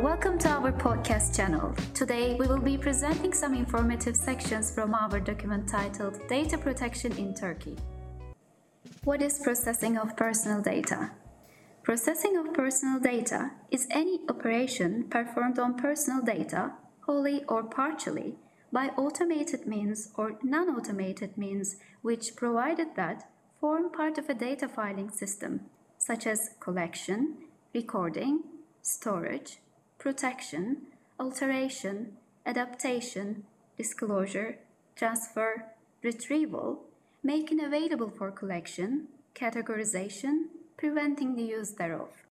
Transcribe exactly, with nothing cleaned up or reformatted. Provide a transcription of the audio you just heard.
welcome to our podcast channel. Today we will be presenting some informative sections from our document titled Data Protection in Turkey. What is processing of personal data? Processing of personal data is any operation performed on personal data, wholly or partially, by automated means or non-automated means which, provided that, form part of a data filing system, such as collection, recording, storage, protection, alteration, adaptation, disclosure, transfer, retrieval, making available for collection, categorization, preventing the use thereof.